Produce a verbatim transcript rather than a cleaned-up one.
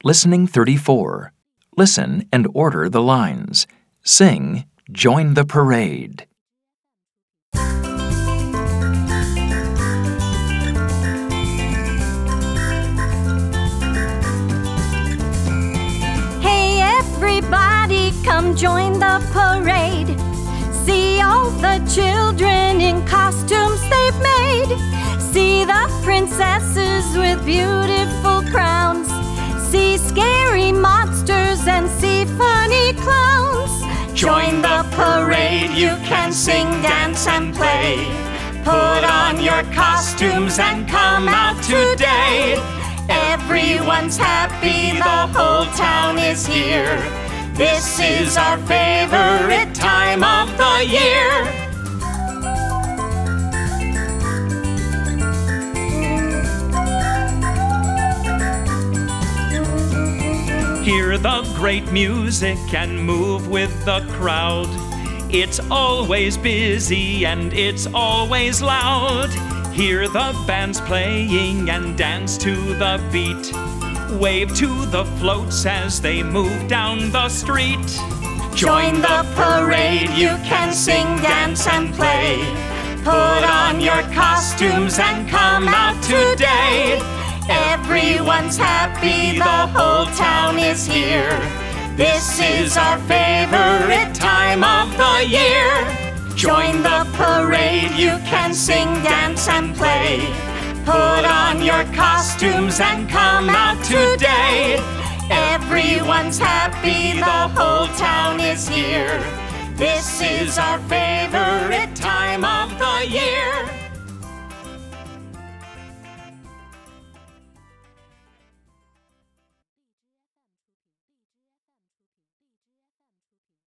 Listening thirty-four. Listen and order the lines. Sing, "Join the Parade." Hey everybody, come join the parade. See all the children in costumes they've made. See the princesses with beautiful crowns. See scary monsters and see funny clowns. Join the parade, you can sing, dance, and play. Put on your costumes and come out today. Everyone's happy, the whole town is here. This is our favorite time of the year. Hear the great music and move with the crowd. It's always busy and it's always loud. Hear the bands playing and dance to the beat. Wave to the floats as they move down the street. Join the parade, you can sing, dance, and play. Put on your costumes and come out today. Everyone's happy, the whole town is here. This is our favorite time of the year. Join the parade, you can sing, dance, and play. Put on your costumes and come out today. Everyone's happy, the whole town is here. This is our favorite time of the year.